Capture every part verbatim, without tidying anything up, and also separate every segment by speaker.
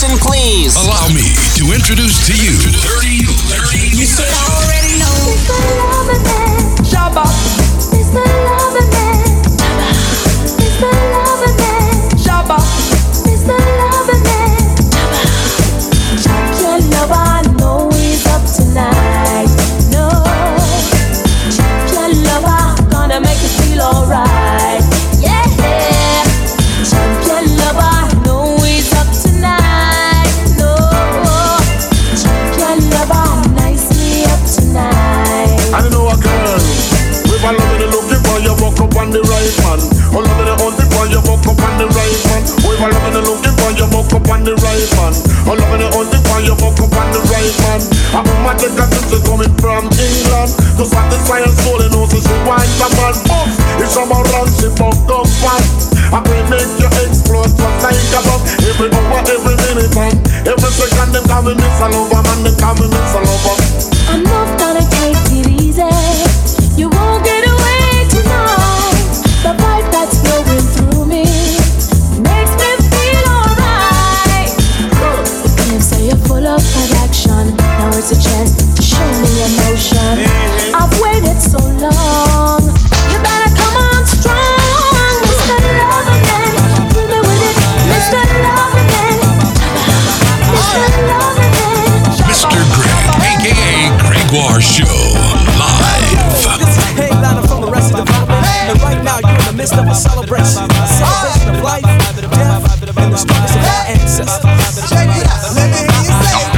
Speaker 1: attention, please.
Speaker 2: Allow me to introduce to you Dirty Legend.
Speaker 1: You should already know.
Speaker 3: It's the loving man.
Speaker 1: Shabba.
Speaker 3: It's the loving man. It's the loving man.
Speaker 1: Shabba.
Speaker 3: It's the loving man. Champion lover, I know he's up tonight. No. Champion lover, gonna make you feel alright. Yeah. Champion lover, I know he's up tonight. No. Champion lover, nice me up tonight.
Speaker 4: I know a girl. With a love in the looking for you, walk up on the right man. Oh, love in the hunting for you, walk up on the right man. With a love in the looking for you, walk up on the right man. Oh, love in the hunting for you, walk up on the right man. A woman take a sister coming from England to satisfy her soul and also she wants a man. But if someone runs, she fucked up fast. I will make you explode just like a bomb. Every hour, every minute, and every second, them call me Miss Lover, man, they call me Miss Lover.
Speaker 3: I'm not gonna take it easy. You won't get away tonight. The vibe that's flowing through me makes me feel alright. Can't say you're full of attraction. Now it's a chance to show me emotion. I've waited so long. You better come on strong, Mister Loving Man. Do me with it, Mister Loving Man. Mister Loving Man.
Speaker 2: Mister Greg, aka Gregoire Show, live.
Speaker 5: This is a headliner from the rest of the development, and right now you're in the midst of a celebration, a celebration of life, death, and the struggles of our ancestors. Check it out, let me hear you say it.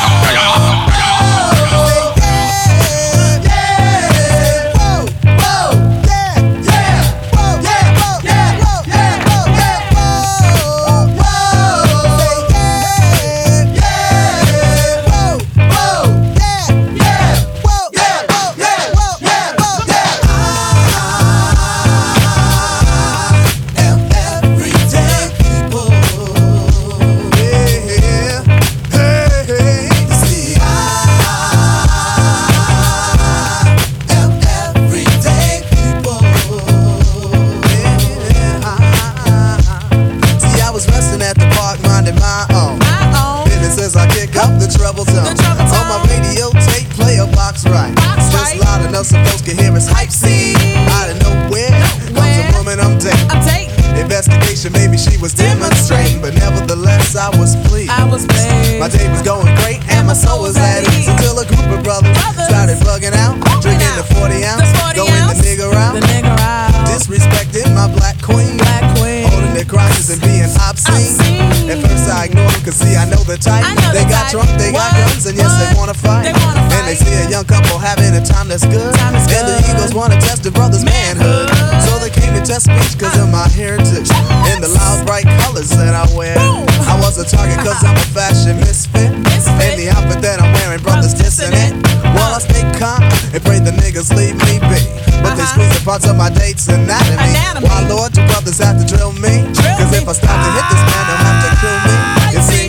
Speaker 6: Supposed to hear his hype scene. Out of nowhere comes a woman I'm dating. I'm dating. Investigation, maybe she was demonstrating, but nevertheless I was pleased. I was pleased. My day was going great and my soul was at ease until a group of brothers, brothers. started bugging out, oh, drinking out. the forty ounce, going the nigga out, the nigga out, disrespecting my black queen, black queen, holding their crotches and being obscene. obscene. At first I ignored them, cause see I know the type. Know they the got type. drunk, they what? got guns, and yes what? they wanna fight. They wanna fight. And they see a young couple having a time that's good, time and good. the egos wanna test the brother's manhood. manhood. So they came to test speech cause of my heritage and the loud bright colors that I wear. Boom. I was a target cause I'm a fashion misfit, misfit. And the outfit that I'm wearing, brothers dissing it. While I stay calm and pray the niggas leave me be, but uh-huh. they squeeze the parts of my date's anatomy. anatomy. Why Lord, the brothers have to drill me, drill cause me. if I stop to hit this man, they'll have to kill me. You see,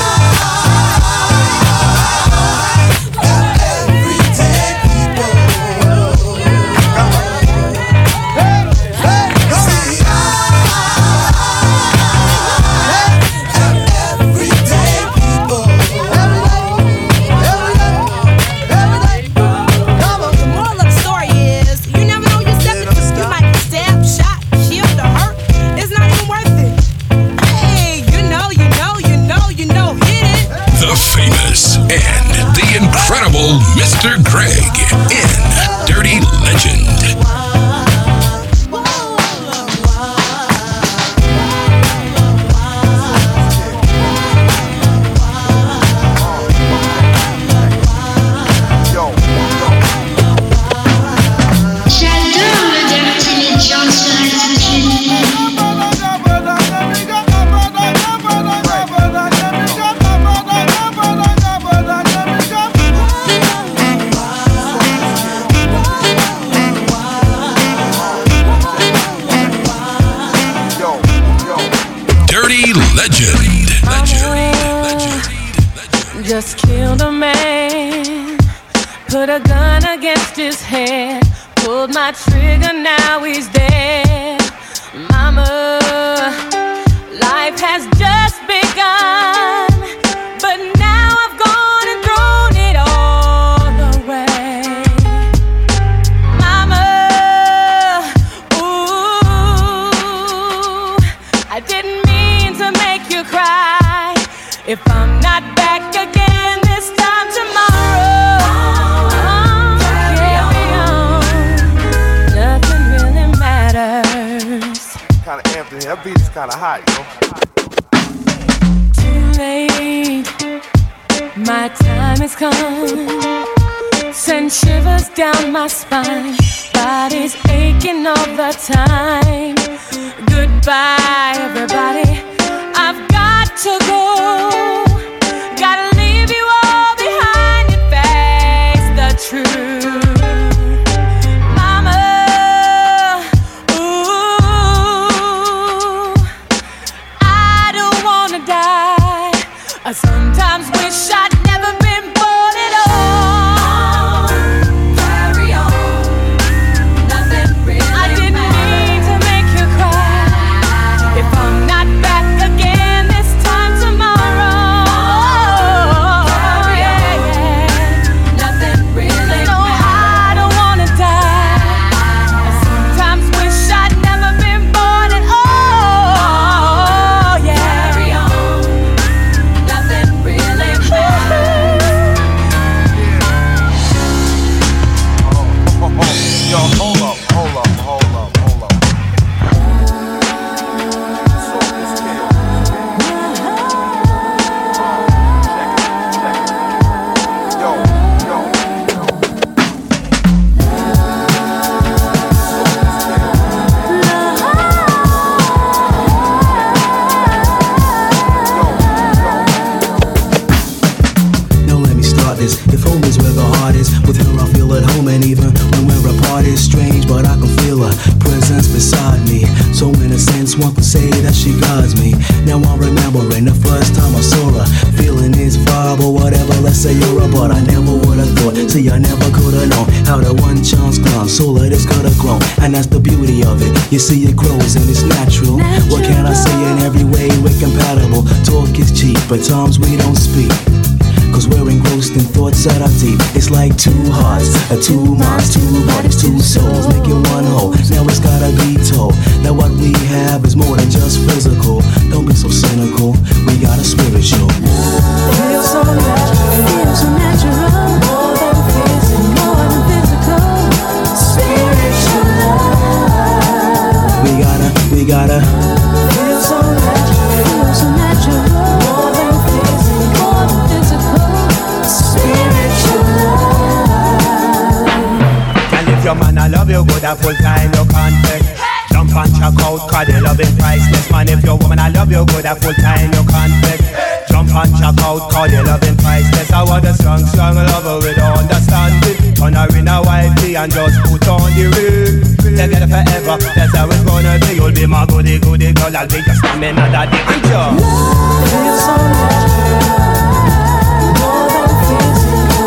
Speaker 2: incredible Mister Greg in Dirty Legend.
Speaker 7: J'adore le Dirty Legend sur Altitude.
Speaker 2: Legend. Legend. Legend.
Speaker 3: Just killed a man, put a gun against his head, pulled my trigger, now he's dead. Mama, life has just begun. I didn't mean to make you cry. If I'm not back again this time tomorrow, oh, carry on. Nothing really matters.
Speaker 4: Kinda amped in here. That beat is kinda hot, yo.
Speaker 3: Too late. My time has come. Send shivers down my spine. Body's aching all the time. Goodbye, everybody. I've got to go. Gotta leave you all behind and face the truth. Mama, ooh, I don't wanna die. I sometimes wish I'd never been born at all. Carry on. Nothing really I didn't matters. Mean to make you cry. If I'm not back again this time tomorrow, carry yeah, on. Yeah. Nothing really no, matters. I don't wanna die. I sometimes wish I'd never been born at all. Yeah. Carry on. Nothing really matters.
Speaker 4: Oh, oh, oh. Yo, hold up, hold up, hold up, hold up. So this chaos. Check it, check it. Yo, yo, yo.
Speaker 1: Now let me start this. If home is where the heart is, with her I feel at home, and even when we're apart it's strange, but I can feel her presence beside me. So in a sense one could say that she guides me. Now I'm remembering the first time I saw her, feeling this vibe or whatever, let's say you're a but I never would've thought, see I never could've known how the one chance comes, so let this could've grown. And that's the beauty of it, you see it grows and it's natural, natural. What can I say, in every way we're compatible. Talk is cheap, but times we don't speak, cause we're engrossed in thoughts that are deep. It's like two hearts, uh, two minds, two bodies, two souls, making one whole. Now it's gotta be told that what we have is more than just physical. Don't be so cynical, we got a spiritual.
Speaker 3: Feels so natural, feels so natural. More than physical, more than physical. Spiritual love.
Speaker 1: We gotta, we gotta.
Speaker 3: Feels so natural, feels so natural. More than physical, more than physical. Spiritual love.
Speaker 8: And if your man I love you good, a full time you can't take. Jump and check out, cause the loving priceless. Man, if your woman I love you good, a full time you can't take. Jump and check out, cause the loving priceless. I want a strong, strong lover with understanding. Turn her in a white tee and just put on the ring. Together forever, that's how it's gonna be. You'll be my goody, goody girl, I'll be your stamina daddy. And you
Speaker 3: Feels so natural. More than physical.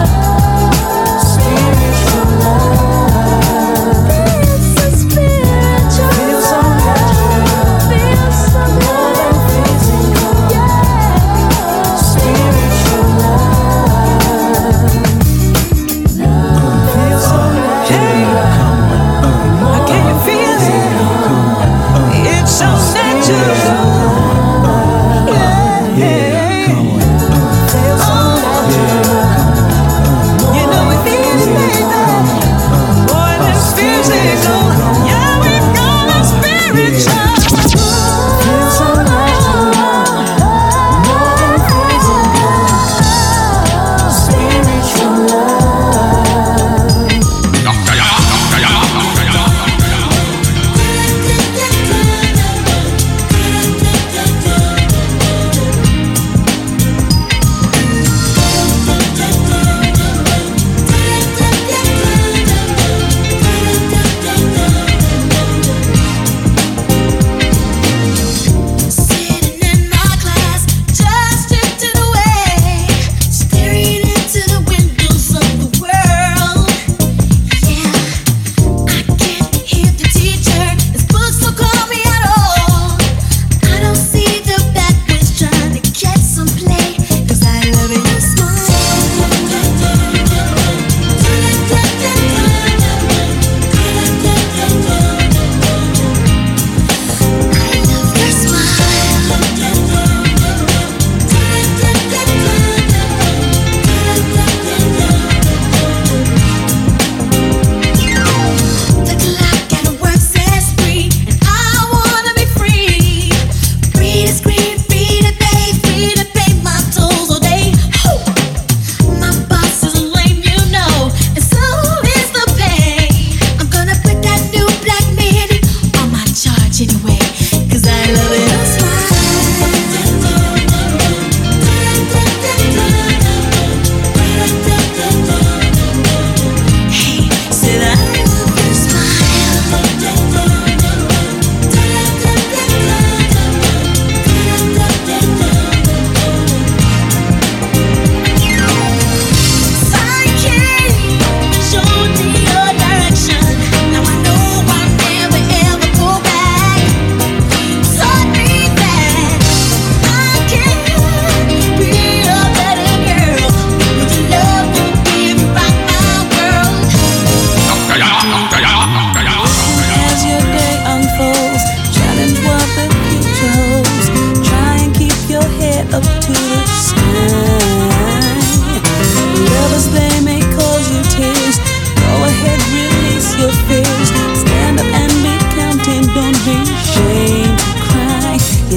Speaker 3: Spiritual love. Feels so spiritual. Feels so natural. Feels so more than physical. Yeah. Spiritual love. Feels so natural. Can you feel it? It's so natural. Yeah.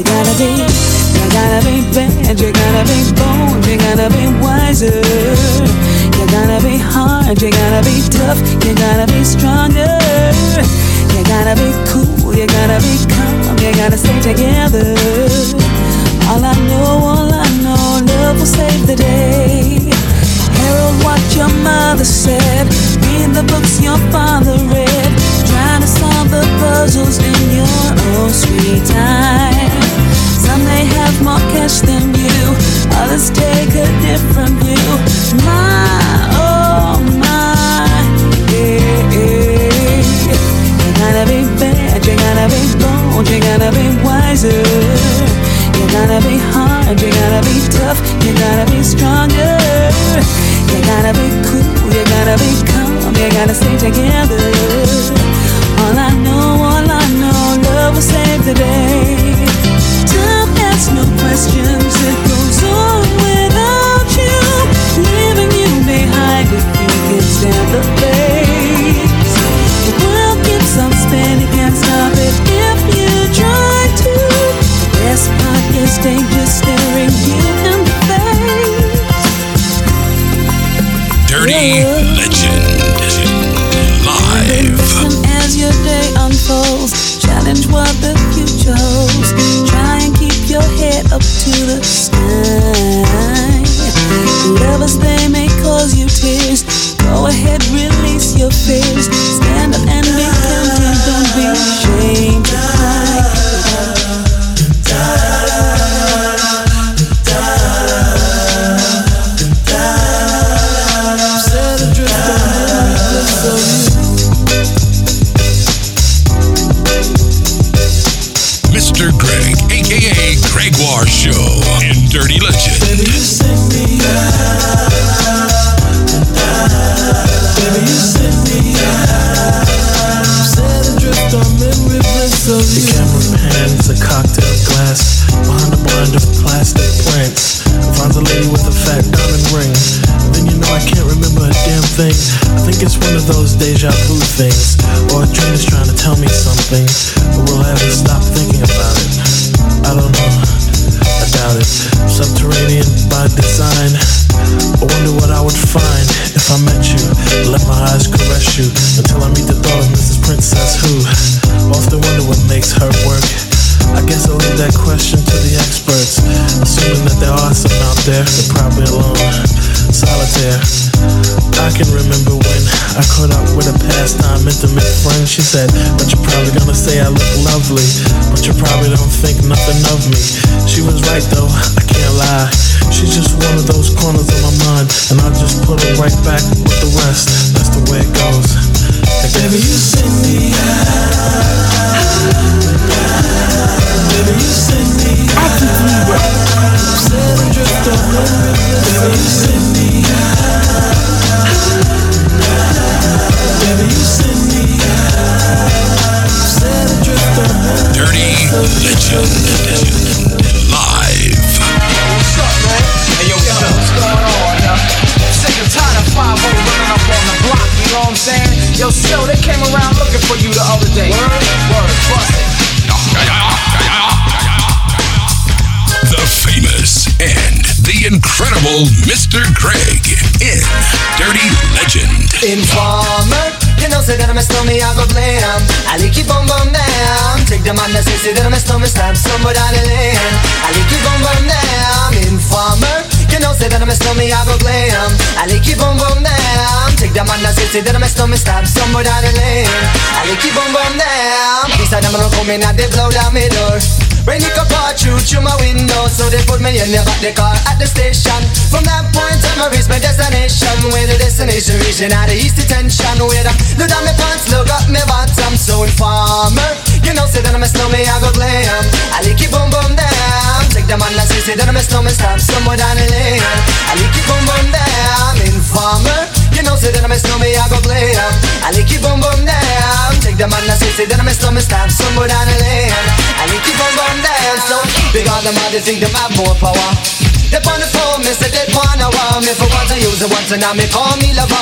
Speaker 3: You gotta be, you gotta be bad, you gotta be bold, you gotta be wiser. You gotta be hard, you gotta be tough, you gotta be stronger. You gotta be cool, you gotta be calm, you gotta stay together. All I know, all I know, love will save the day. Herald what your mother said, read the books your father read, trying to solve the puzzles in your own sweet time. Some may have more cash than you, others take a different view. My, oh my, yeah, yeah. You gotta be bad, you gotta be bold, you gotta be wiser. You gotta be hard, you gotta be tough, you gotta be stronger. You gotta be cool, you gotta be calm, you gotta stay together. All I know, all I know, love will save the day. Time asks no questions, it goes on without you, leaving you behind if you can stand the pace. The world keeps on spinning, can't stop it if you try to. The best part is danger staring you in the face.
Speaker 2: Dirty Legend Live.
Speaker 3: Listen as your day unfolds, challenge what the future holds. Try and keep your head up to the sky. Lovers, they may cause you tears. Go ahead, release your fears. Stand up and be counted, don't be ashamed to cry.
Speaker 2: Mister Greg, aka Gregoire Show in Dirty Legend.
Speaker 1: Baby, you send me out. Baby, you send me out. Set adrift on memory bliss of you. The camera pans a cocktail glass behind a blind of plastic plants. Finds a lady with a fat diamond ring. Then you know I can't remember a damn thing. I think it's one of those deja vu things, or a dream is trying to tell me something, but will I ever stop thinking about it? I don't know, I doubt it. Subterranean by design. I wonder what I would find if I met you. Let my eyes caress you until I meet the thought of Missus Princess, who often wonder what makes her work. I guess I'll leave that question to the experts, assuming that there are some out there. They're probably alone, solitaire. I can remember when I caught up with a pastime intimate friend. She said, but you're probably gonna say I look lovely, but you probably don't think nothing of me. She was right though, I can't lie. She's just one of those corners of my mind, and I just put her right back with the rest. That's the way it goes. Baby, you send me out. Baby, you send me out. Said I drift on memory bliss. Baby, you send me out. Baby, you send me out. Said I drift on memory bliss.
Speaker 2: Dirty Legend Live.
Speaker 9: What's up, man? Hey, yo, yo, what's going on, yo? Sick and tired of five oh running up on the block, you know what I'm saying? Yo, still, they came around looking for you the other day. Word, word, bust it.
Speaker 2: The famous and the incredible Mister Greg in Dirty Legend.
Speaker 10: Informer, you know say that I'm a stormy, I go blam. I like you boom boom down. Take the man that say say that I'm a stormy, stab somewhere down the lane. I like you boom boom down. Informer, you know say that I'm a stormy, I go blam. I like you boom boom down. Take the man that say say that I'm a stormy, stab somewhere down the lane. I like you boom boom down. These are them gonna come in and they blow down my door. Rain it come pour through through my window, so they put me in the back the car at the station. From that point on I reach my destination, where the destination region out of east detention. Where the look down my pants, look up my bottom. So informer, you know say that I'm a snowman, I go glam. I like it boom boom down. Take the man that say say that I'm a snowman, stop somewhere down the lane. I like it boom boom down. Informer, you know say that I'm a snowman, I go glam. I like it boom boom down. Take the man that say say that I'm a snowman, stop somewhere down the lane. I like it boom boom. So because them all they think them have more power. They on the phone, me say they wanna want me for once I use it once and now me call me lover.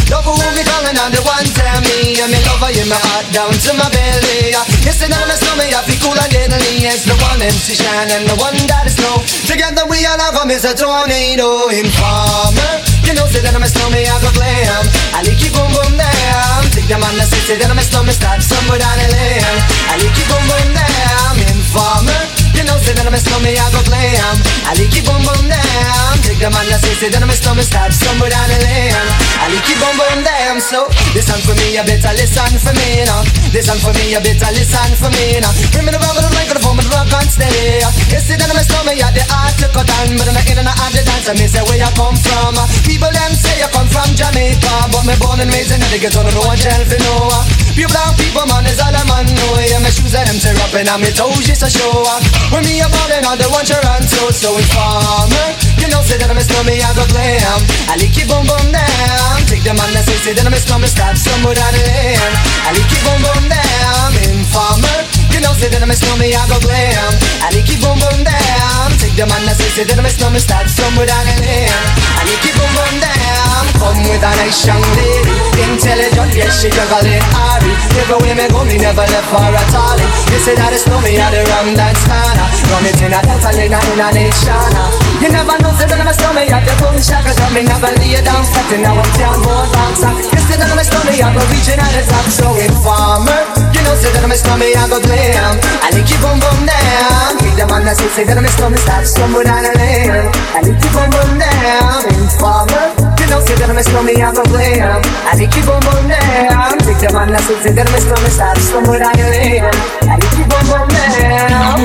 Speaker 10: Love who me calling on the one tell me, and me love her in my heart down to my belly. You say that I'm a stomach, I feel cool and deadly. It's the one M C Shine and the one that is snow. Together we all have come is a tornado. Informer, you know say that I'm a stomach, I go glam. I like you boom boom down. Take them on the say, say that I'm a stomach, start somewhere down the lane. I like you boom boom down. Informer, you know say that I'm a stomach, I go glam. I like you boom boom down. Take them on the say, say that I'm a stomach, start somewhere down the lane. I like you boom boom down. So listen for me, you better listen for me now. Listen for me, you better listen for me now. Bring me the rubber, the microphone, the rock and steady. You see that I'm a stomach, you the art to cut on, but I'm not in and out the dance. I me say where you come from. People them say you come from Jamaica, but me born and raised in the ghetto, no one tell for no. Pure brown people, man, is all a man know. Yeah, my shoes and them tear up and on me toes just a show. When me a ballin' on the one Toronto, so informer, you know say that I'm a stomach, I go glam. I like you boom boom down. Take them on the say, say that I'm a stomach, stop somewhere down the lane. I like you boom boom down. Informer, you know say that I'm a stomach, I go glam. I like you boom boom down. Take them on the say, say that I'm a stomach, stop somewhere down the lane. I like you boom boom down. Come with a nice young lady, intelligent, yes she juggling Ari. Everywhere me go, me never left for a tally. You say that it's no me at the wrong dance corner. Run it in a dance and in a in a nation. You never know say that I'm a stomach, at the boom shaka. Cause me never lay down flat and now I'm down more bouncer. You say that I'm a stomach, I go reaching at the top. So informer, you know say that I'm a stomach, I go glam. I like you boom boom down. Keep them on the say, say that I'm a stomach, stop somewhere down the lane. I like you boom boom down. Informer, you know say that I'm a stomach, I go glam. I like you boom boom down. Take them on the say, say that I'm a stomach, stop somewhere down the lane. I like you boom boom down.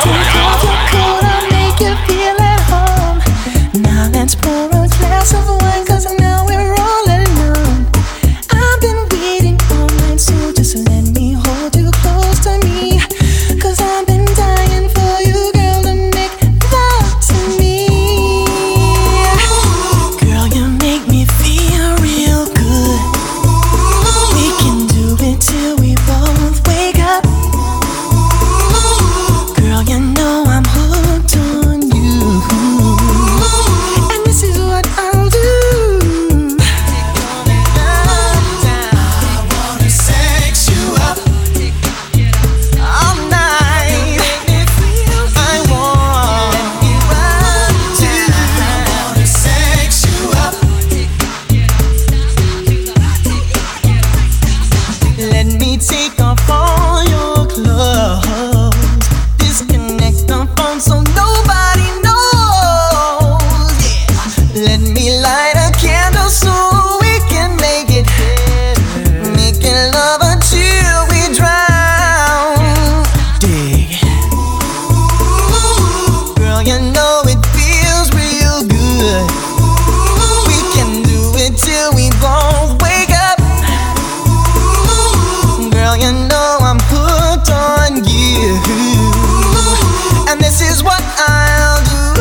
Speaker 3: I'll make you feel at home. Now let's pour a glass of wine, cause now we're all alone. I've been waiting all night, so just let me hold you close to me. Cause I've been dying for you, girl, to make love to me. Girl, you make me feel real good. We can do it till we both wake up. Girl, you know I'm hooked on you. And this is what I'll do. I wanna sex you up all night. I want you to. I wanna sex you up. Let me take off all your clothes. Disconnect the phone so nobody knows. Yeah. Let me light a candle so we can make it. Making love until we drown. Dig. Girl, you know it feels real good. We can do it till we both wake up. Girl, you know I'm hooked on you. And this is what I'll do.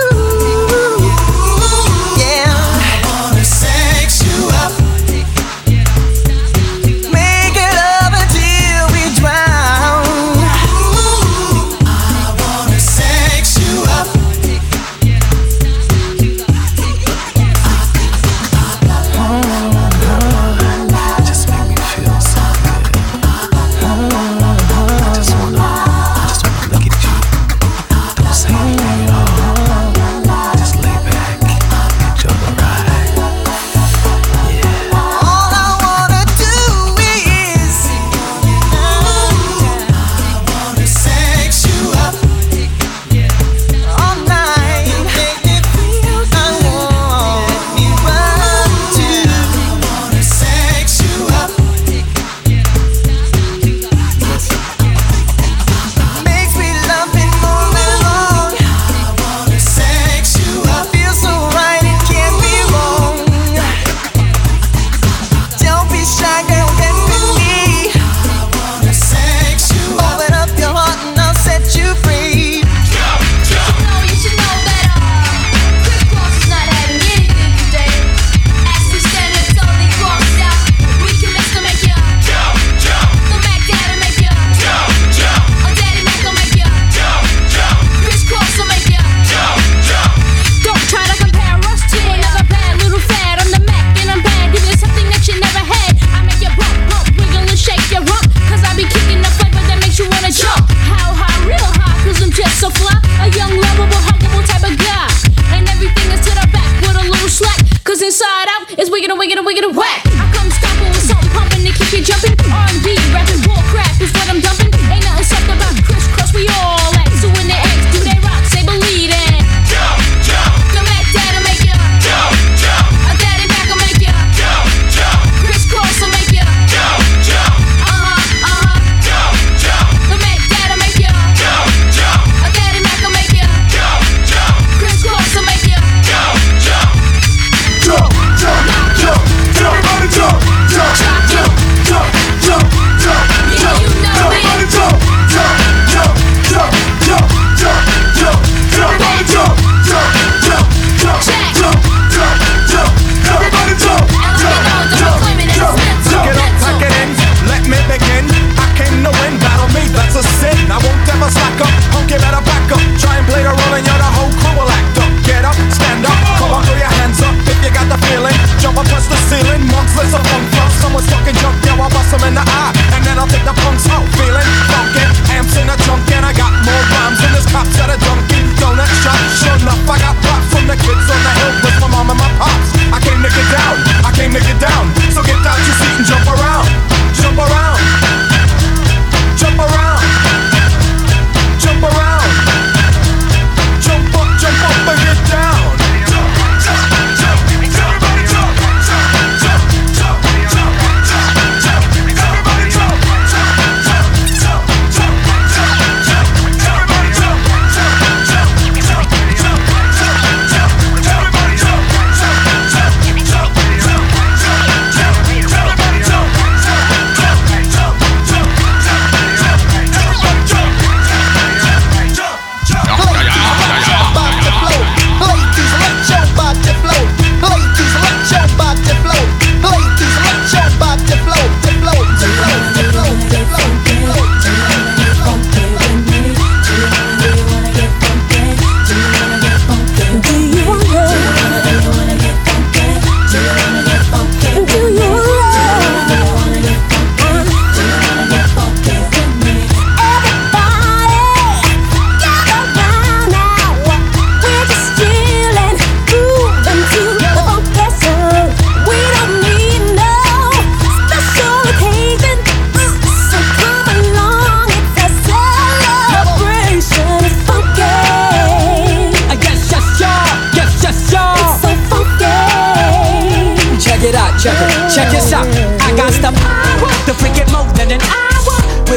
Speaker 3: Yeah. I wanna sex you up. Make it love until we drown. I wanna sex you up.
Speaker 1: Just make me feel so good. I just wanna, I just wanna look at you. Don't say it.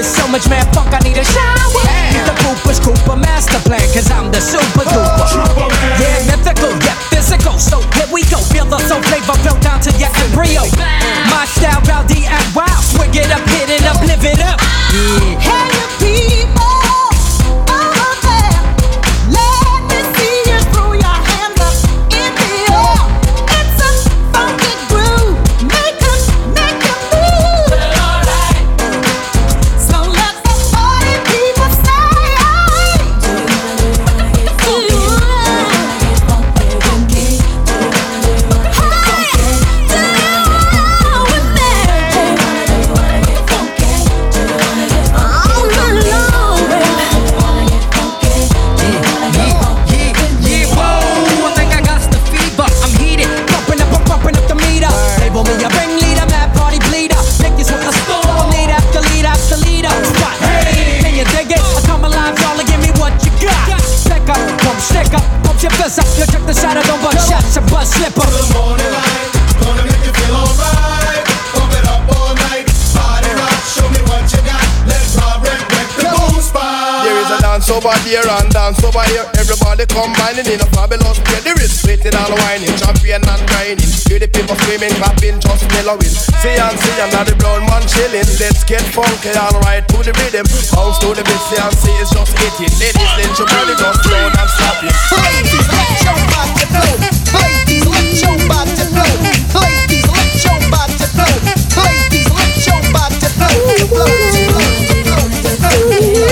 Speaker 5: So much mad funk, I need a shower. Need the Cooper's Cooper master plan, cause I'm the super duper. Yeah, mythical, yeah, physical. So here we go, feel the soul flavor flow down to your embryo. My style, rowdy and wild. Swing it up, hit it up, live it up. Yeah.
Speaker 3: Hey, you people over there, let me see you throw your hands up in the air. It's a funky groove, make us, make us move. Alright. So let the party people say, do you wanna get funky? Do you wanna get funky? Do you wanna get funky? Do you wanna with me? Do you wanna get funky? Do you wanna get funky? All night long, baby. Do you wanna get funky? Do you wanna get funky?
Speaker 5: Yeah, whoa, I think I got the fever. I'm heated, pumping up, I'm pumping up the meter. Label me a ringleader, mad party bleeder. Niggas with the storm, lead after lead after leader. What? Hey, can you dig it? I come alive, y'all, give me what you got. Pick up, pump, stick up, pump your fist up. You check the side, I don't bust shots, a bust slipper.
Speaker 4: Morning light, gonna make you feel alright. Pump it up all night, party rock, show me what you got. Let's rock, wreck, wreck the boom spot.
Speaker 6: There is a dance over there and dance over here. Everybody combining in a fabulous play. There is sweating and whining, champion and grinding. Hear the people screaming, clapping, just mellowing. See and see, and now the brown man chilling. Let's get funky and right to the rhythm. Bounce to the beat, see and see, it's just hitting. Ladies, let your body just down and slap it.
Speaker 10: Ladies, let your body flow. Ladies, let your body flow. Ladies, let your body flow. Ladies, let your body flow. Flow, flow, flow, flow.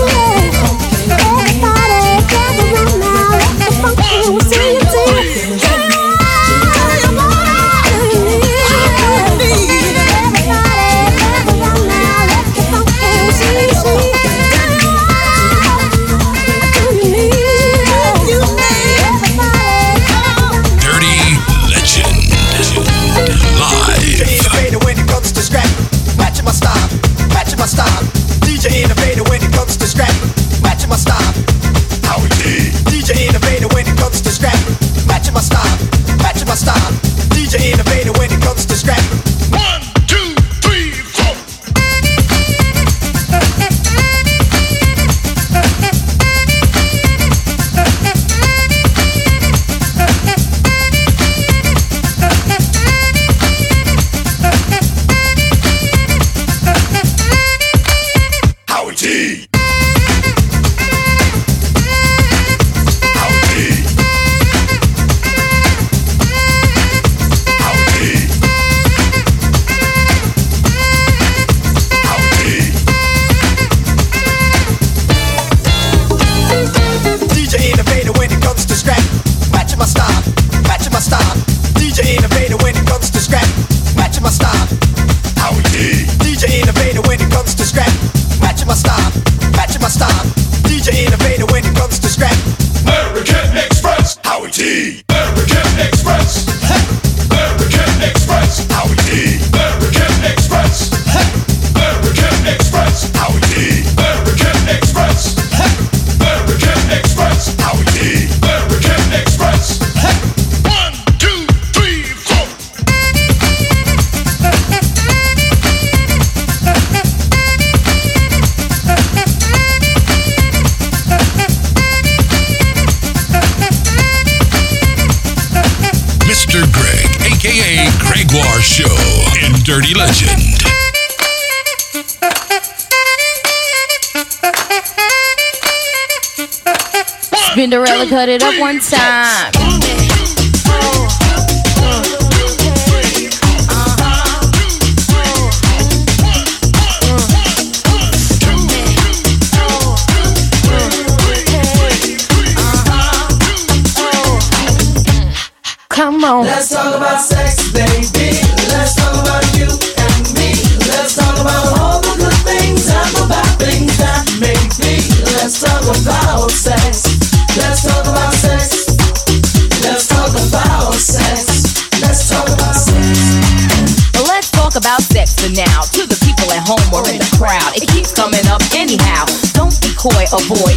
Speaker 2: Dirty Legend. Live.
Speaker 10: Innovator when it comes to scrap, matching my style, matching my style. D J innovator when it comes to scrap, matching my style. How we did. D J innovator when it comes to scrap, matching my style, matching my style. D J innovator when it comes to scrap.
Speaker 4: One, two, three, four.
Speaker 10: Howie T. D J innovator when it comes to scrap, matching my style, matching my style. D J innovator when it comes to scrap, matching my style. Howie T. D J innovator when it comes to scrap, matching my style, matching my style. D J innovator when it comes to scrap.
Speaker 4: American Express.
Speaker 10: Howie T.
Speaker 4: American Express. American Express.
Speaker 10: Howie T.
Speaker 4: American Express. American Express.
Speaker 10: Howie T.
Speaker 4: American Express. American Express.
Speaker 10: Howie T.
Speaker 4: American Express. One, two, three, four.
Speaker 2: Mister Greg, aka Gregoire Show in Dirty Legend.
Speaker 11: Spinderella, cut it up one time. Come on.
Speaker 12: Let's talk about sex, baby. Let's talk about you and me. Let's talk about all the good things and the bad things that make me. Let's talk about sex. Let's talk about sex. Let's talk about sex. Let's talk about sex.
Speaker 11: Well, let's talk about sex for now. To the people at home or in the crowd, it keeps coming up anyhow. Don't be coy, avoid,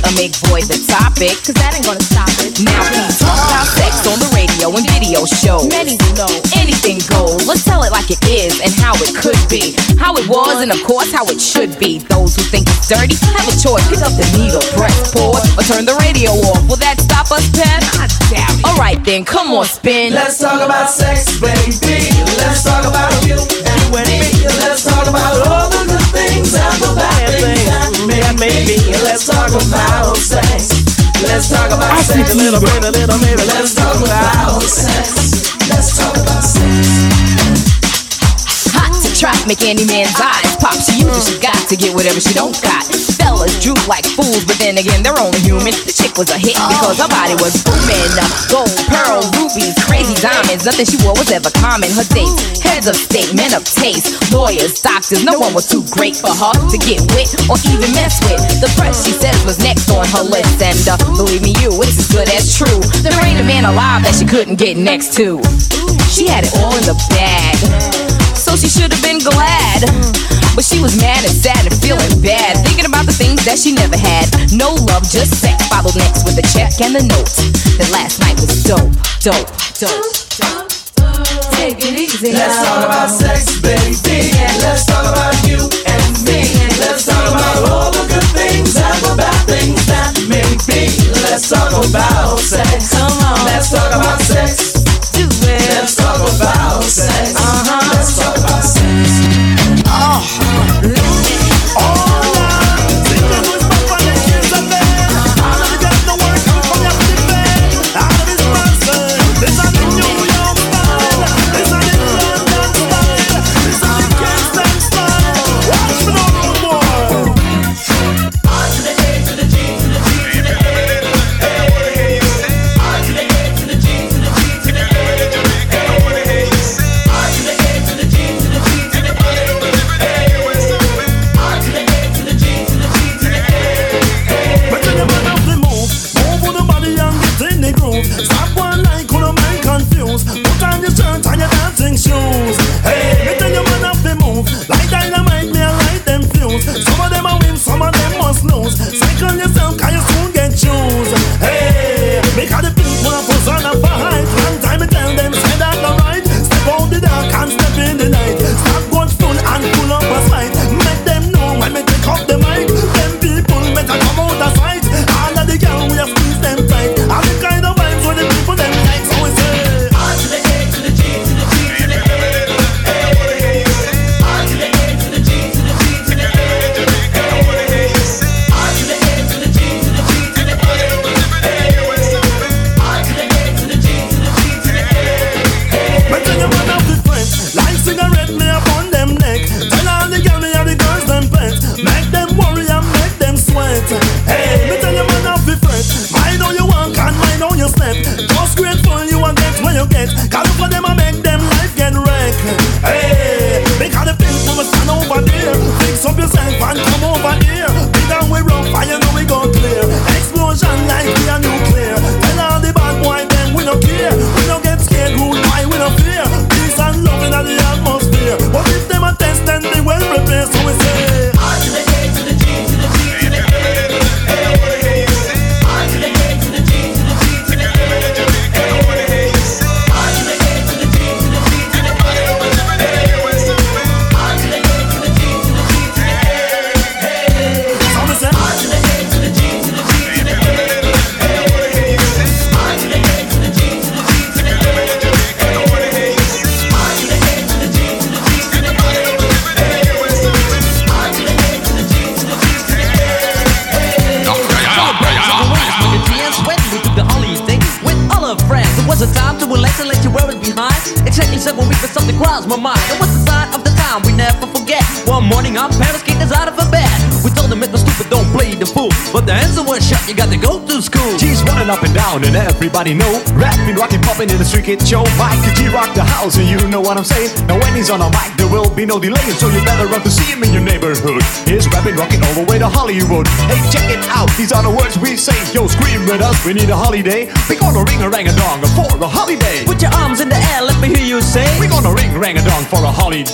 Speaker 11: or make void the topic, cause that ain't gonna stop it. Now we talk about sex on the radio and video shows. Many will know anything goes. Let's tell it like it is and how it could be, how it was and of course how it should be. Those who think it's dirty have a choice. Pick up the needle, press pause, or turn the radio off. Will that stop us, Pep? I doubt it. Alright then, come on, spin.
Speaker 12: Let's talk about sex, baby. Let's talk about you and me. Let's talk about all the good things and the bad things that may be. Let's talk about sex. Let's talk about sex. A little bit, a little baby. Let's talk about sex. Let's talk about sex.
Speaker 11: Hot to trap, make any man's eyes pop. She uses, she got to get whatever she don't got. Fellas droop like fools, but then again, they're only human. The chick was a hit because her body was booming. Gold, pearl, rubies, crazy diamonds. Nothing she wore was ever common. Her dates, heads of state, men of taste, lawyers, doctors. No one was too great for her to get with or even mess with. The press, she says, was next on her list. And uh, believe me, you, it's as good as true. There ain't a man alive that she couldn't get next to. She had it all in the bag, so she should have been glad. But she was mad and sad and feeling bad, thinking about the things that she never had. No love, just sex. Followed next with a check and a note. That last night was dope, dope, dope, dope. Take it easy.
Speaker 12: Let's talk about sex, baby. Let's talk about you and me. Let's talk about all the good things and the bad things that may be. Let's talk about sex. Come on. Let's talk about sex. Do it. Let's talk about sex. Uh-huh. Let's talk about sex. Oh.
Speaker 5: My mind. It was the sign of the time we never forget. One morning our parents kicked us out of a bed. We told them it was stupid, don't play the fool. But the answer was shut, you got to go to school.
Speaker 13: G's running up and down and everybody know. Rapping, rocking, popping in the street kid show. Mike and G rock the house and you know what I'm saying. Now when he's on a mic there will be no delay, so you better run to see him in your neighborhood. He's rapping, rocking all the way to Hollywood. Hey, check it out, these are the words we say. Yo, scream with us, we need a holiday. We gonna ring a rang a dong for a holiday.
Speaker 5: Put your arms in the air, let me hear you say.
Speaker 13: We gonna ring rang a dong for a holiday.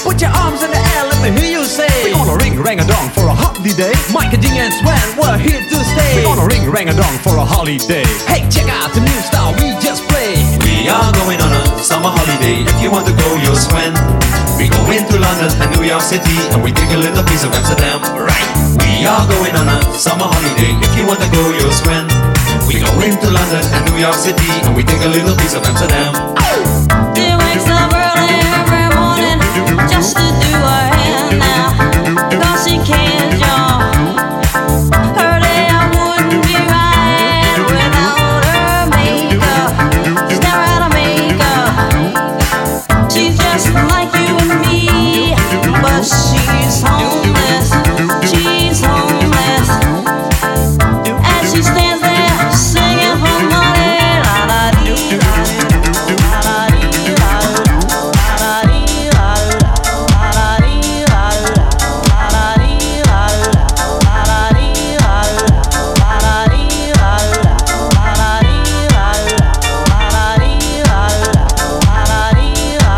Speaker 5: Put your arms in the air, let me hear you say.
Speaker 13: We're gonna ring rang a dong for a holiday.
Speaker 5: Mike and Ding and Sven, we're here to stay.
Speaker 13: We're gonna ring rang a dong for a holiday.
Speaker 5: Hey, check out the new style we just played.
Speaker 14: We are going on a summer holiday. If you want to go, you'll swim. We go into London and New York City, and we take a little piece of Amsterdam. Right. We are going on a summer holiday. If you want to go, you'll swim. We go into London and New York City, and we take a little piece of Amsterdam.
Speaker 3: She wakes up early every morning just to do her hair now, 'cause she can't jump. Her day I wouldn't be right without her makeup. She's never had a makeup. She's just like you and me, but she's homeless. She's homeless. As she stands there singing for money, la la dee la la dee la la dee la la dee la la dee la la dee la la dee la la dee la la dee la la dee la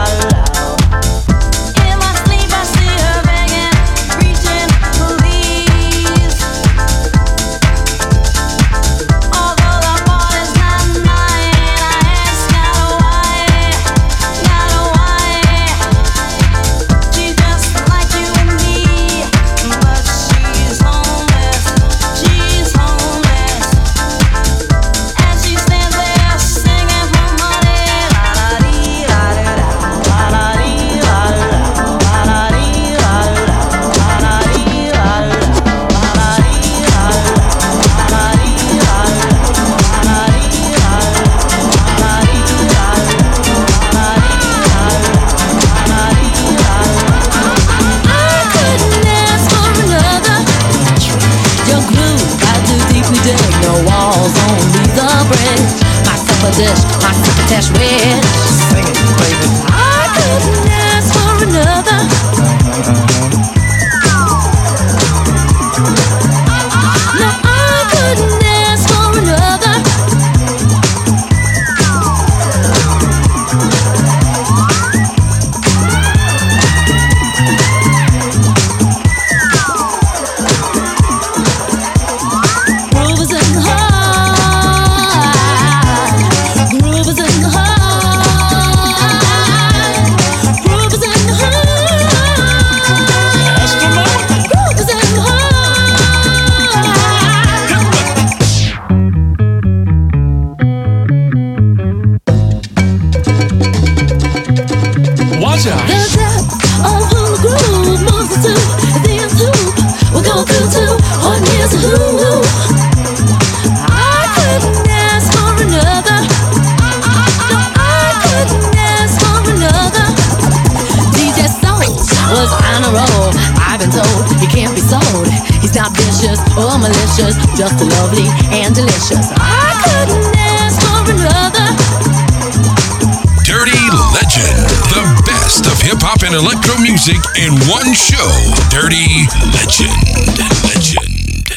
Speaker 3: in my sleep I see her begging, reaching, please. Although the fault is not mine, I ask God why, God why. She's just like you and me, but she's homeless, she's homeless. As she stands there singing for money, la la dee la la la la dee la la la dee la la la dee la la la dee la la dee la la dee I couldn't ask for another. Your glue got too deeply dug. No walls, only the bridge. My supper dish, my crocketesh wish. Sing it, baby. I couldn't ask for another. No, I couldn't ask for another. Groove is in the heart. Groove is in the heart. Groove is in the heart. Groove is in the
Speaker 2: Watch out.
Speaker 3: The depth of who the groove moves us to is the end soup. We'll go through two on years of who. I couldn't ask for another. No, I couldn't ask for another. D J Soul was on a roll. I've been told he can't be sold. He's not vicious or malicious, just lovely and delicious. I couldn't ask for another.
Speaker 2: Dirty Legend. The best of hip hop and electro music in one show. Dirty Legend. Legend.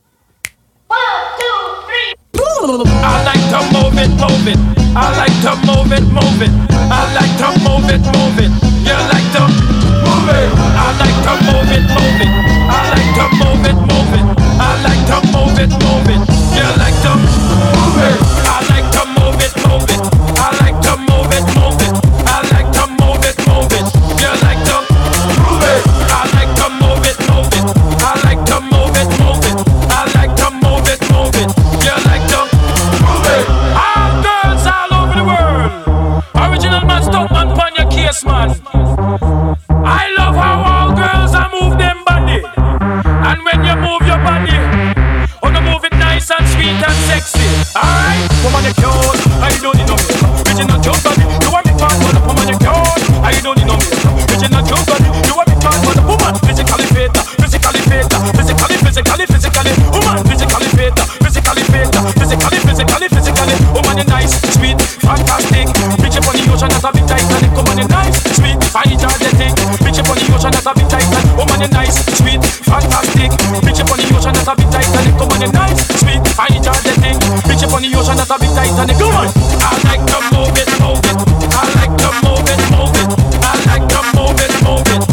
Speaker 15: I like to move it, move it. I like to move it, move it. I like to move it, move it. You like to move it. I like to move it, move it. I like to move it, move it. I like to move it, move it. You like to move it. I like to move it, move it. I like to move it, move it. I like to move it, move it. You like to move it. I like to move it, move it. I like to move it, move it. I like to move it, move it. You like to move it. All girls all over the world. Original man, stunt man, on your case, man. I love how all girls are move them body. And when you move your body, oh, you move it nice and sweet and sexy. Alright, woman, you cute. I don't need no makeup. Original cute body. You want me talk about the woman, you cute. I don't need no makeup. Original cute body. You want me talk about the woman. Physically fit, physically fit, physically, physically, physically. Woman, physically fit, physically fit, physically, physically, physically. Woman, you nice, sweet, fantastic. Bitch up on the ocean as a big Titanic. Woman, you nice, sweet, energetic. Bitch up on the ocean as a big Titanic. Woman, you nice, sweet, fantastic. Bitch up on the ocean as a big Titanic. Woman, you nice, sweet, energetic. Bitch up on the ocean as a big Titanic. Come on. I like to move it, move it. I like to move it, move it. I like to move it, move it.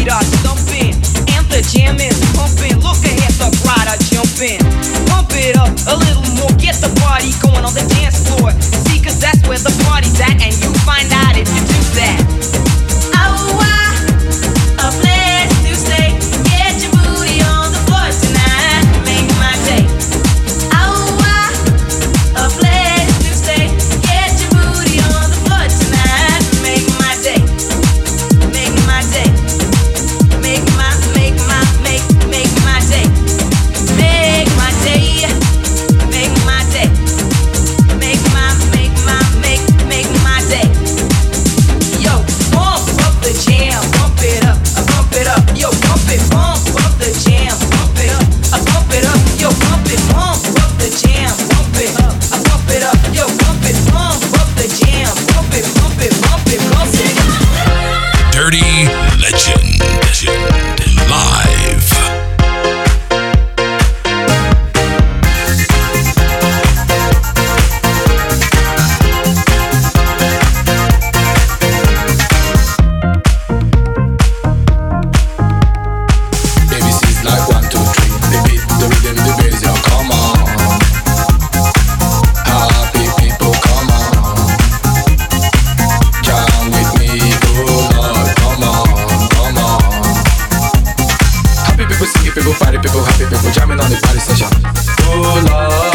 Speaker 5: beat are thumping and the jam is pumping. Look ahead, the crowd are jumping. Pump it up a little more, get the party going on the dance floor. See, cause that's where the party's at, and you find out if you do that. Oh, wow, a place to stay. Get your booty on the floor tonight, make my day. Oh, wow, a place to stay. Get your booty on the floor tonight, make my day. Make my day. Make my, make my, make, make my day. Make my day. Make my day. Make my, make my, make, make my day. Yo, pump up the jam, pump it up, uh, pump it up. Yo, pump it, pump up the jam, pump it up, uh, pump it up. Yo, pump it, pump up the jam, pump it up, uh, pump it up. Yo, pump it, pump up the jam, pump it, pump it, pump it, pump it.
Speaker 2: Dirty Legend. Legend. Live.
Speaker 16: A B C's like one, two, three. The beat, the rhythm, the bass, yo, come on. Happy people, come on. Jam with me, oh Lord, come on, come on. Happy people, singing people, party people, happy people, jamming on the party session. Oh Lord.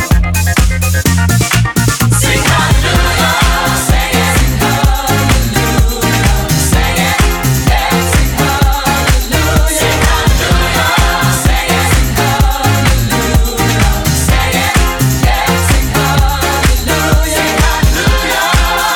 Speaker 16: Sing hallelujah, sing it, sing hallelujah, sing it, yeah, sing hallelujah, sing hallelujah, sing it, sing hallelujah, sing it, yeah, sing hallelujah, sing hallelujah.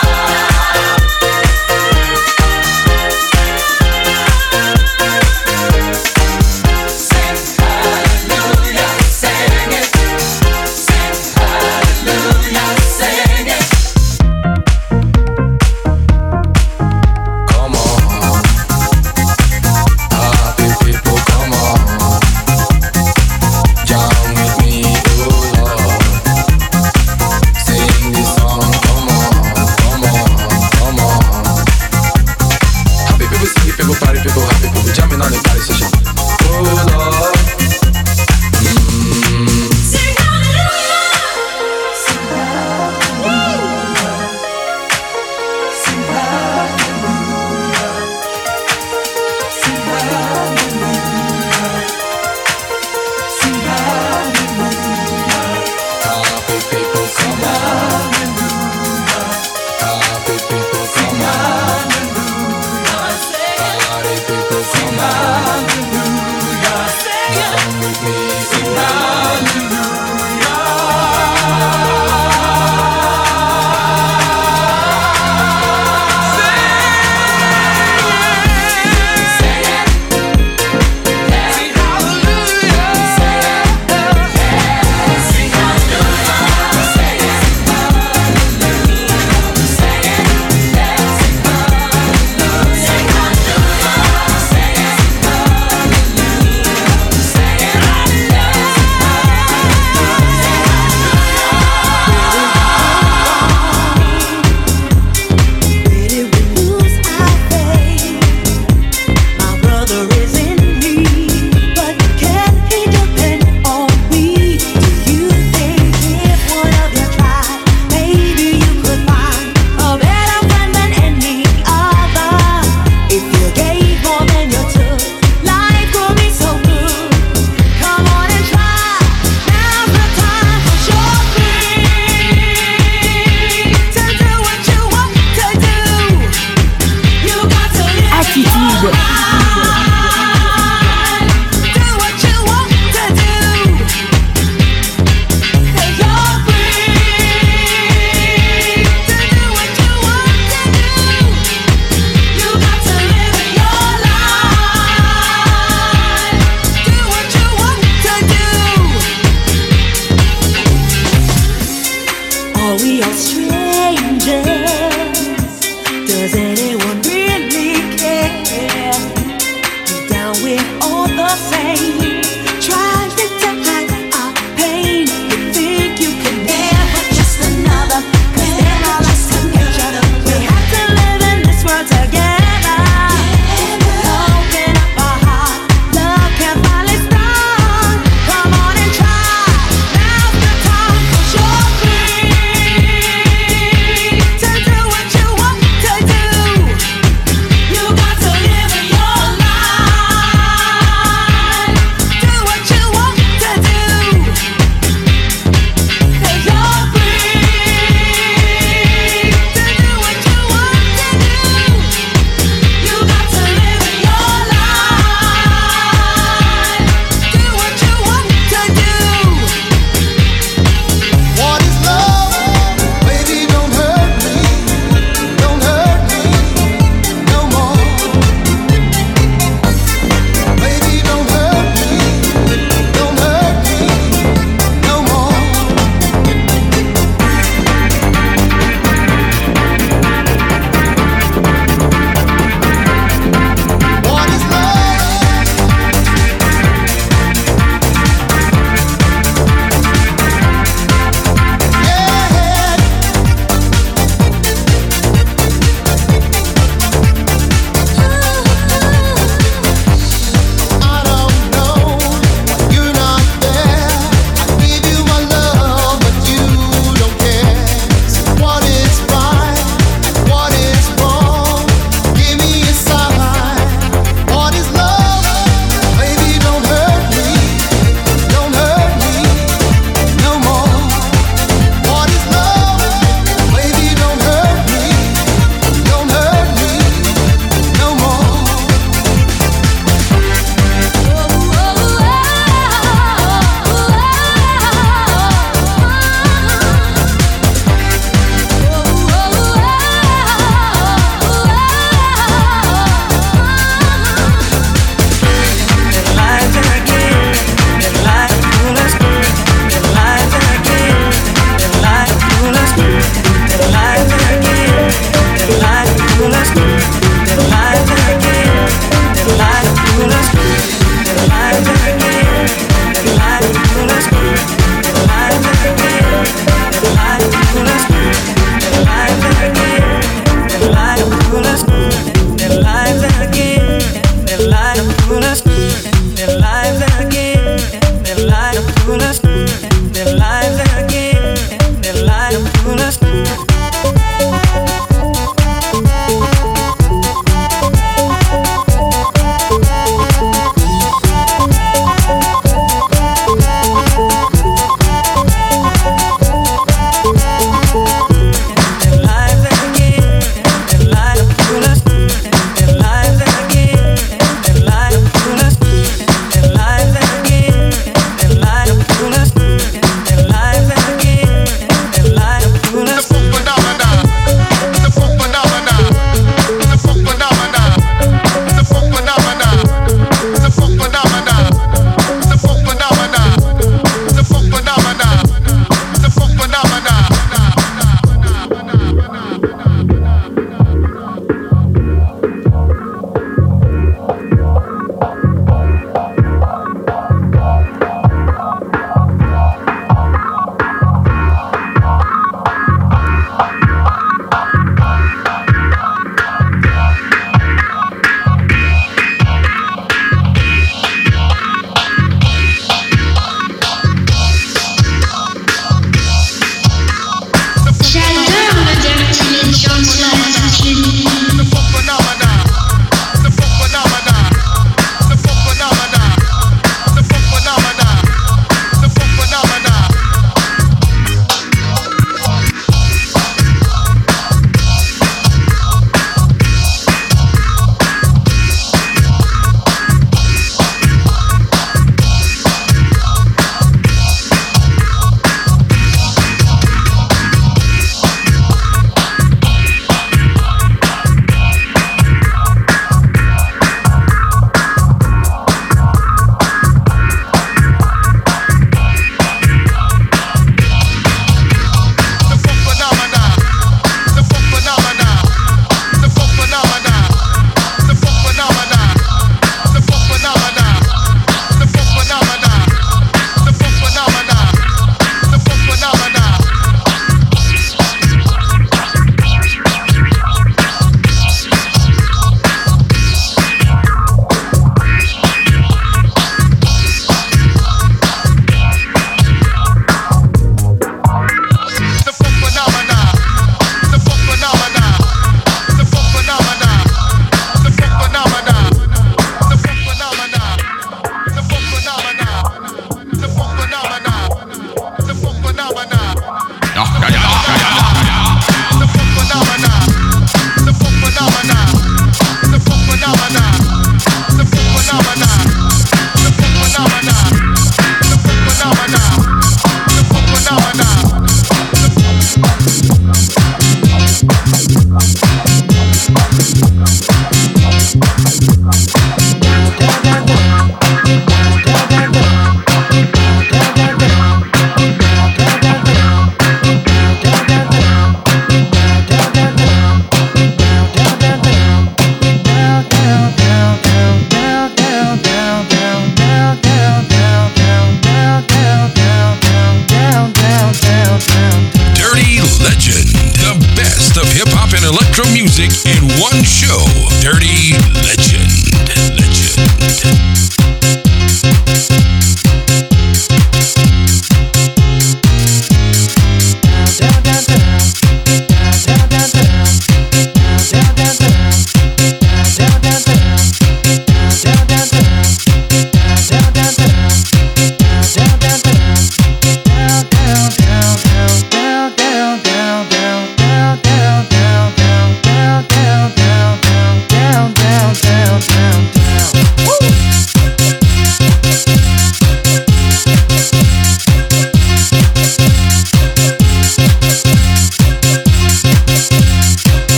Speaker 3: we are strangers? Does anyone really care?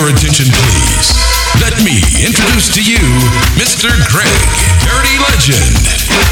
Speaker 2: your attention, please. Let me introduce to you Mister Greg, Dirty Legend.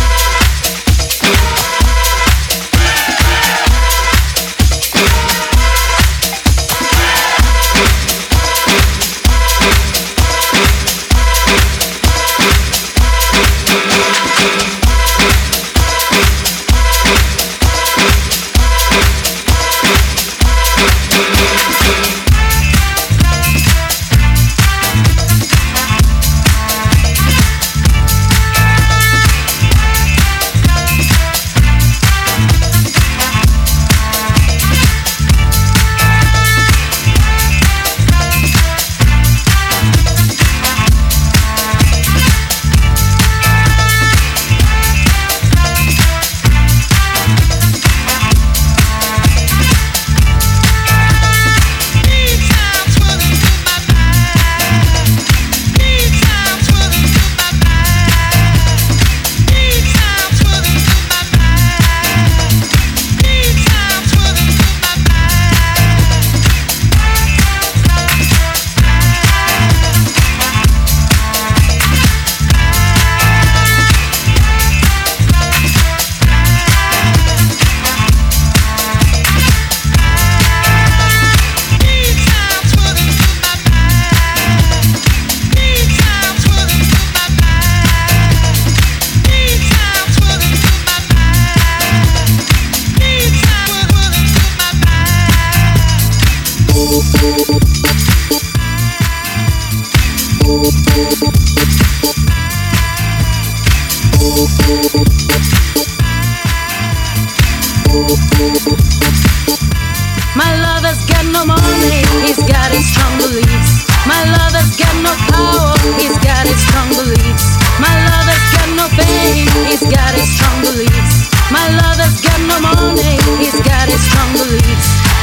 Speaker 3: My lover's got no money, he's got his strong beliefs. My lover's got no power, he's got his strong beliefs. My lover's got no fame, he's got his strong beliefs. My lover's got no money, he's got his strong beliefs.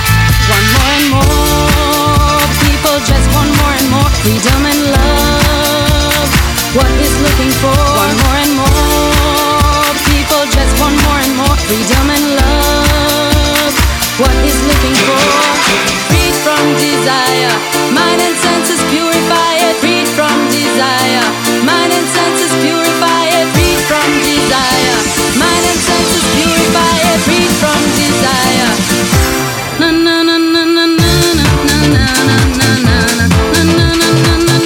Speaker 3: One more and more, people just want more and more freedom and love. What he's looking for, one more and more, people just want more and more freedom and love. What he's looking for, freed from desire, mind and senses purify it. Freed from desire, mind and senses purify it. Freed from desire, mind and senses purify it. Freed from desire. Na na na na na na na na na na na na na na na na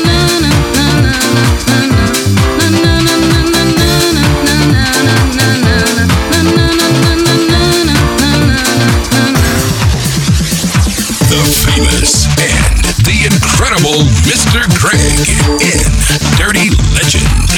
Speaker 2: incredible Mister Greg in Dirty Legend.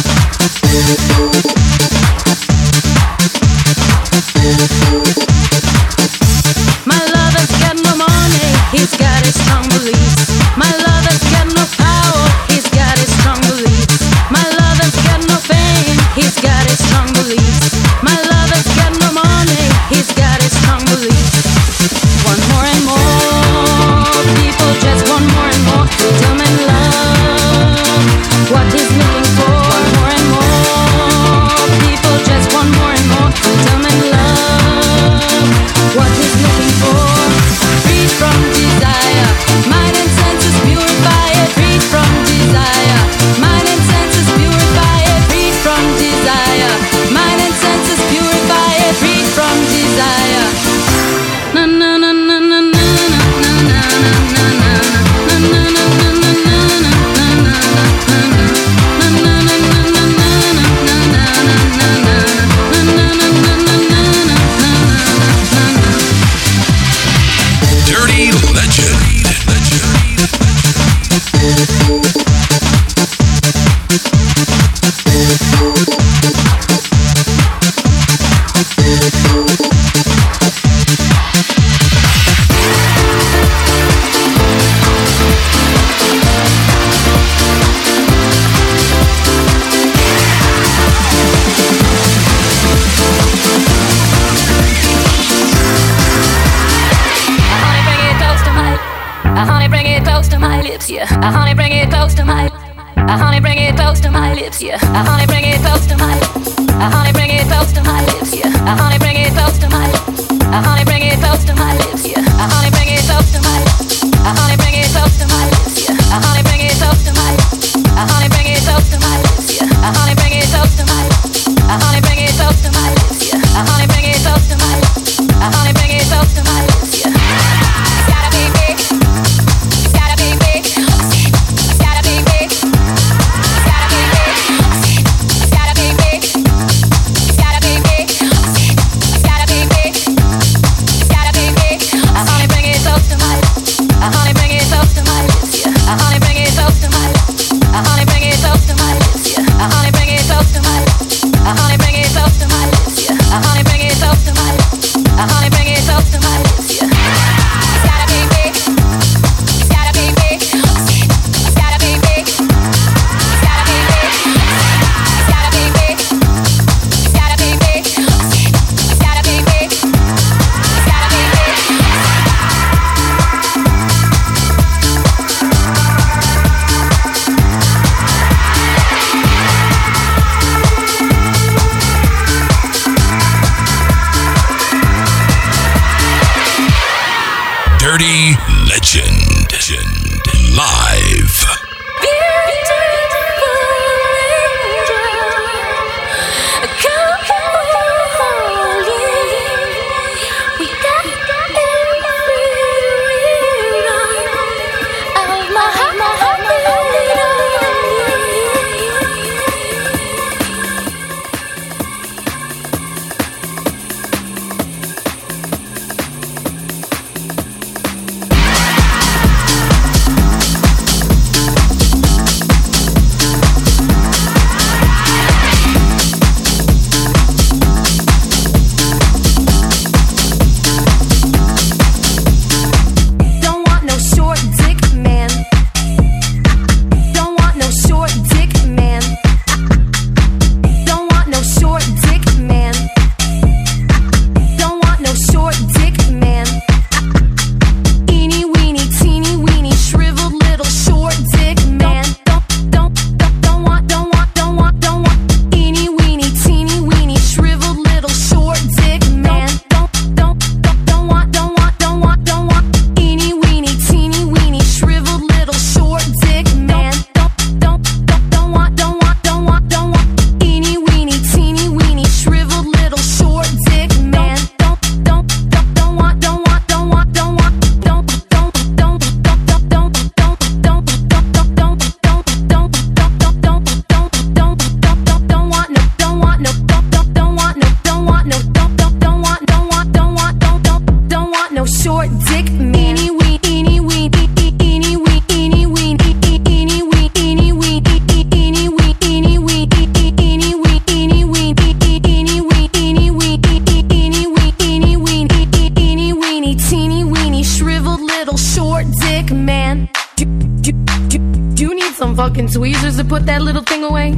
Speaker 3: My lover's got no money, he's got his strong beliefs. My lover's got no power, he's got his strong beliefs. My lover's got no fame, he's got his strong beliefs. My lover's got no money, he's got his strong beliefs. One more and more, people just want more and more freedom and love. What he's looking for, one more and more, people just want more and more freedom and love. What he's looking for, freed from desire, mind and senses purify it. Freed from desire, mind and senses purify it. Freed from desire, mind and senses purify it. Freed from desire. Na na na na na na na na na na
Speaker 2: Dirty Legend.
Speaker 3: Yeah, uh, honey, bring it close to my. Uh, honey, bring it close to my lips. Yeah, uh, honey, bring it close to my. Uh, honey, bring it close to my lips. Yeah, uh, honey, bring it close to my. Uh, honey, bring it close to my lips. Yeah, uh, honey, bring it close to my. Uh, honey, bring it close to my.
Speaker 2: Legend. Legend. Live.
Speaker 17: fucking tweezers to put that little thing away?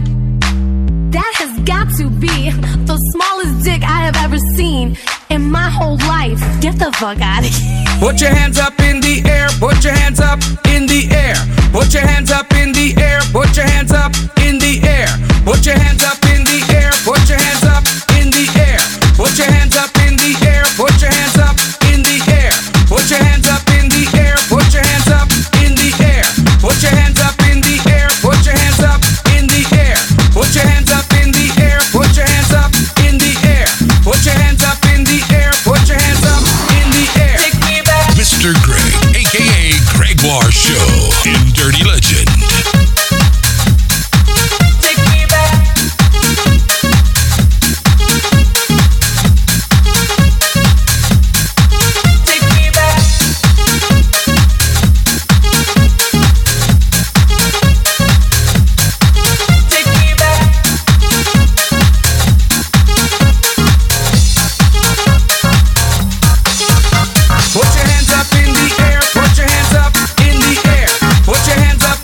Speaker 17: That has got to be the smallest dick I have ever seen in my whole life. Get the fuck out of here.
Speaker 18: Put your hands up in the air, put your hands up in the air. Put your hands up in the air, put your hands up in the air. Put your hands up in the air, put your hands up in the air. Put your hands up in the air, put your hands up in the air. Put your hands up in the air, put your hands up in the air. Put your hands up in the air, put your hands up in the air. Put your hands up in the air, put your hands up in the air. Put your hands up in the air, put your hands up in the air. Take me back.
Speaker 2: Mister Greg, aka Gregoire Show in Dirty Legend.
Speaker 18: Put your hands up in the air, put your hands up in the air. Put your hands up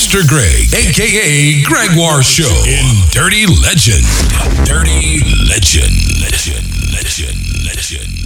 Speaker 2: Mister Greg, a k a. Gregoire Show in Dirty Legend. Dirty Legend. Legend. Legend. Legend.